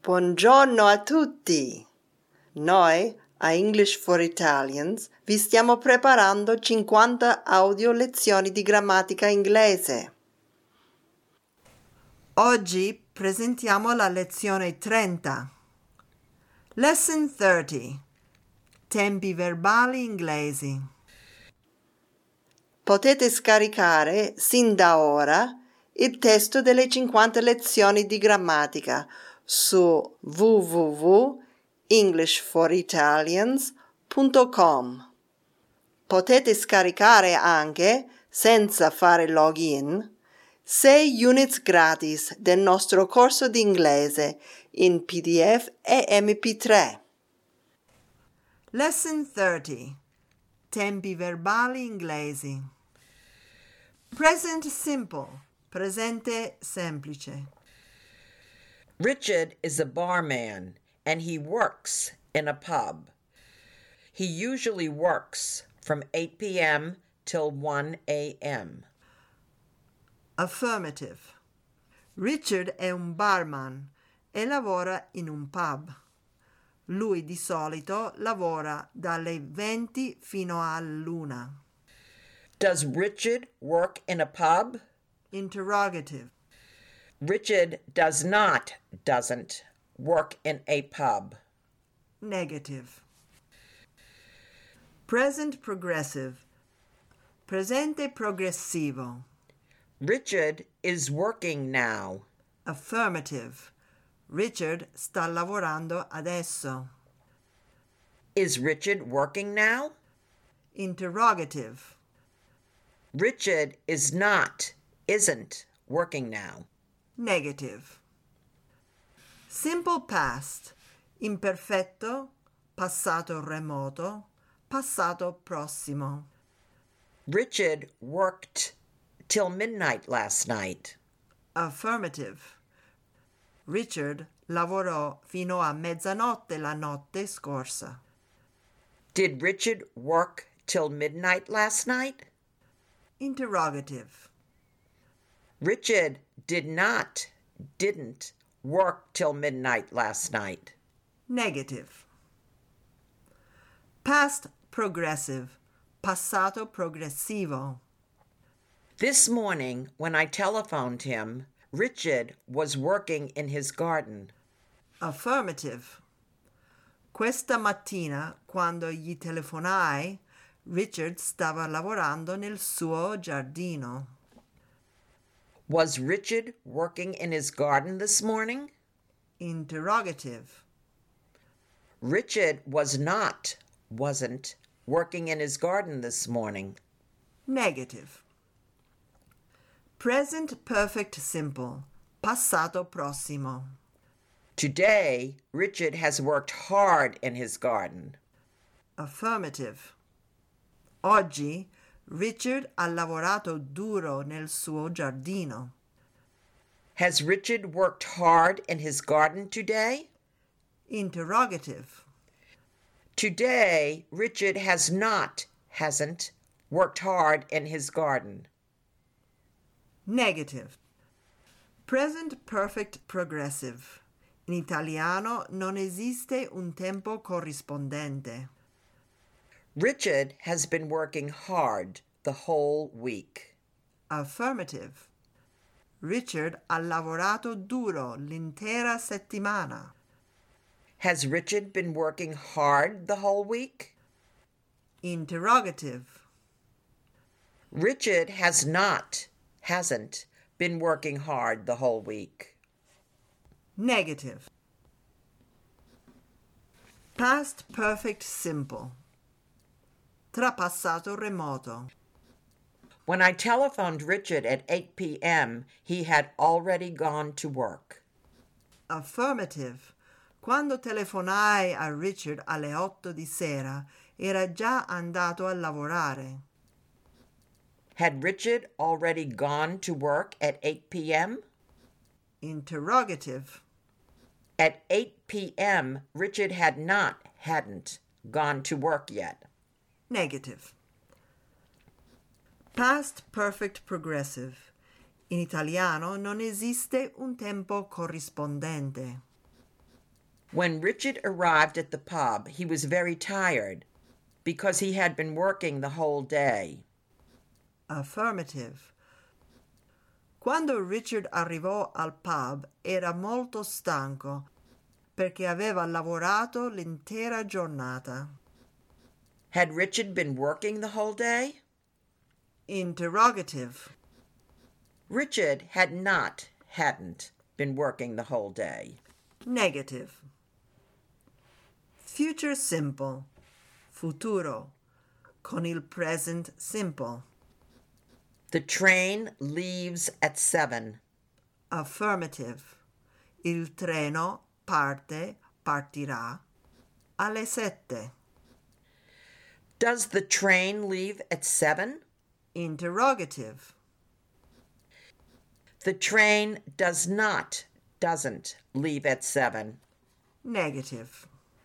Buongiorno a tutti! Noi, a English for Italians, vi stiamo preparando 50 audio lezioni di grammatica inglese. Oggi presentiamo la lezione 30. Lesson 30. Tempi verbali inglesi. Potete scaricare sin da ora il testo delle 50 lezioni di grammatica su www.englishforitalians.com. Potete scaricare anche, senza fare login, 6 units gratis del nostro corso di inglese in PDF e MP3. Lesson 30. Tempi verbali inglesi. Present simple. Presente semplice. Richard is a barman and he works in a pub. He usually works from 8 p.m. till 1 a.m. Affirmative. Richard è un barman e lavora in un pub. Lui di solito lavora dalle 20 fino all'1. Does Richard work in a pub? Interrogative. Richard doesn't work in a pub. Negative. Present progressive. Presente progressivo. Richard is working now. Affirmative. Richard sta lavorando adesso. Is Richard working now? Interrogative. Richard isn't working now. Negative. Simple past. Imperfetto, passato remoto, passato prossimo. Richard worked till midnight last night. Affirmative. Richard lavorò fino a mezzanotte la notte scorsa. Did Richard work till midnight last night? Interrogative. Richard didn't work till midnight last night. Negative. Past progressive. Passato progressivo. This morning, when I telephoned him, Richard was working in his garden. Affirmative. Questa mattina, quando gli telefonai, Richard stava lavorando nel suo giardino. Was Richard working in his garden this morning? Interrogative. Richard wasn't working in his garden this morning. Negative. Present perfect simple. Passato prossimo. Today, Richard has worked hard in his garden. Affirmative. Oggi Richard ha lavorato duro nel suo giardino. Has Richard worked hard in his garden today? Interrogative. Today, Richard hasn't worked hard in his garden. Negative. Present perfect progressive. In italiano non esiste un tempo corrispondente. Richard has been working hard the whole week. Affirmative. Richard ha lavorato duro l'intera settimana. Has Richard been working hard the whole week? Interrogative. Richard hasn't been working hard the whole week. Negative. Past perfect simple. Trapassato remoto. When I telephoned Richard at 8 p.m., he had already gone to work. Affirmative. Quando telefonai a Richard alle 8 di sera, era già andato a lavorare. Had Richard already gone to work at 8 p.m.? Interrogative. At 8 p.m., Richard hadn't gone to work yet. Negative. Past perfect progressive. In italiano non esiste un tempo corrispondente. When Richard arrived at the pub, he was very tired because he had been working the whole day. Affirmative. Quando Richard arrivò al pub era molto stanco perché aveva lavorato l'intera giornata. Had Richard been working the whole day? Interrogative. Richard hadn't been working the whole day. Negative. Future simple. Futuro. Con il present simple. The train leaves at 7. Affirmative. Il treno partirà alle 7. Does the train leave at 7? Interrogative. The train doesn't leave at 7. Negative.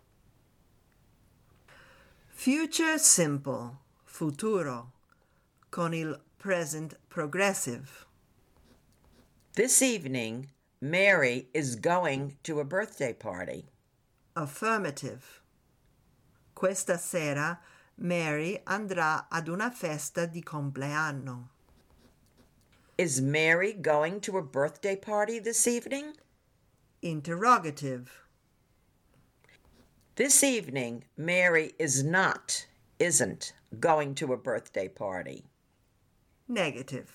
Future simple. Futuro. Con il present progressive. This evening, Mary is going to a birthday party. Affirmative. Questa sera Mary andrà ad una festa di compleanno. Is Mary going to a birthday party this evening? Interrogative. This evening, Mary isn't going to a birthday party. Negative.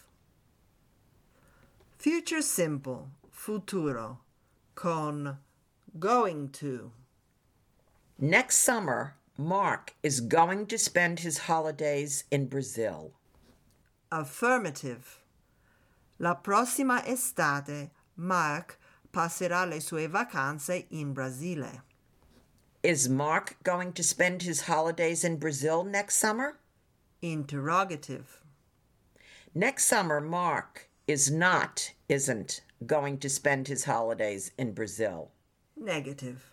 Future simple. Futuro. Con going to. Next summer, Mark is going to spend his holidays in Brazil. Affirmative. La prossima estate Mark passerà le sue vacanze in Brasile. Is Mark going to spend his holidays in Brazil next summer? Interrogative. Next summer, Mark isn't going to spend his holidays in Brazil. Negative.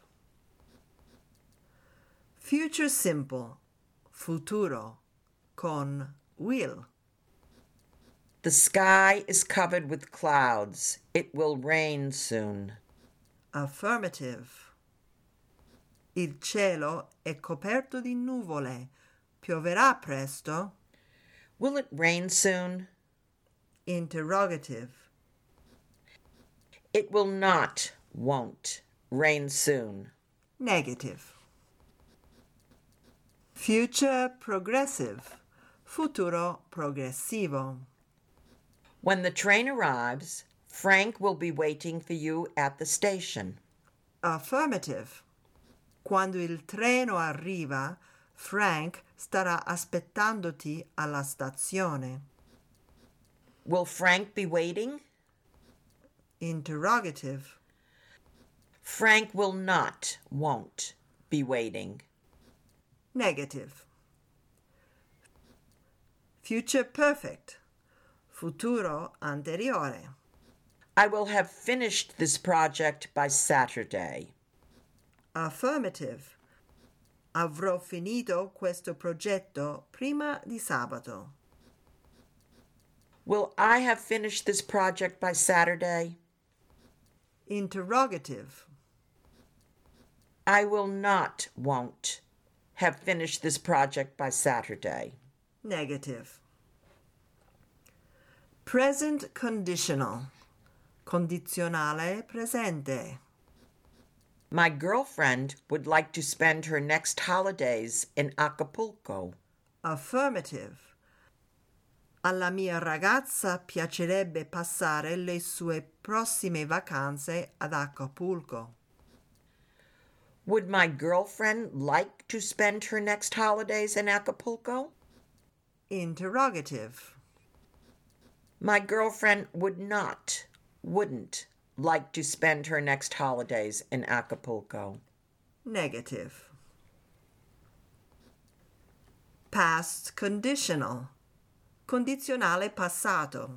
Future simple. Futuro. Con will. The sky is covered with clouds. It will rain soon. Affirmative. Il cielo è coperto di nuvole. Pioverà presto? Will it rain soon? Interrogative. It won't rain soon. Negative. Future progressive. Futuro progressivo. When the train arrives, Frank will be waiting for you at the station. Affirmative. Quando il treno arriva, Frank starà aspettandoti alla stazione. Will Frank be waiting? Interrogative. Frank won't be waiting. Negative. Future perfect. Futuro anteriore. I will have finished this project by Saturday. Affirmative. Avrò finito questo progetto prima di sabato. Will I have finished this project by Saturday? Interrogative. I won't have finished this project by Saturday. Negative. Present conditional. Condizionale presente. My girlfriend would like to spend her next holidays in Acapulco. Affirmative. Alla mia ragazza piacerebbe passare le sue prossime vacanze ad Acapulco. Would my girlfriend like to spend her next holidays in Acapulco? Interrogative. My girlfriend wouldn't like to spend her next holidays in Acapulco. Negative. Past conditional. Condizionale passato.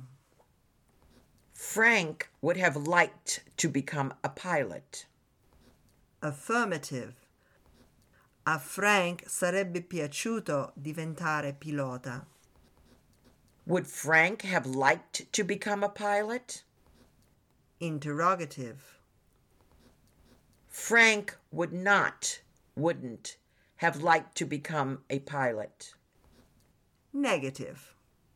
Frank would have liked to become a pilot. Affirmative. A Frank sarebbe piaciuto diventare pilota. Would Frank have liked to become a pilot? Interrogative. Frank wouldn't have liked to become a pilot. Negative.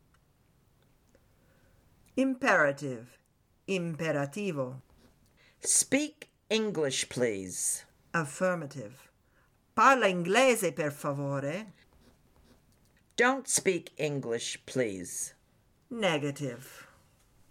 Imperative. Imperativo. Speak English, please. Affirmative. Parla inglese, per favore. Don't speak English, please. Negative.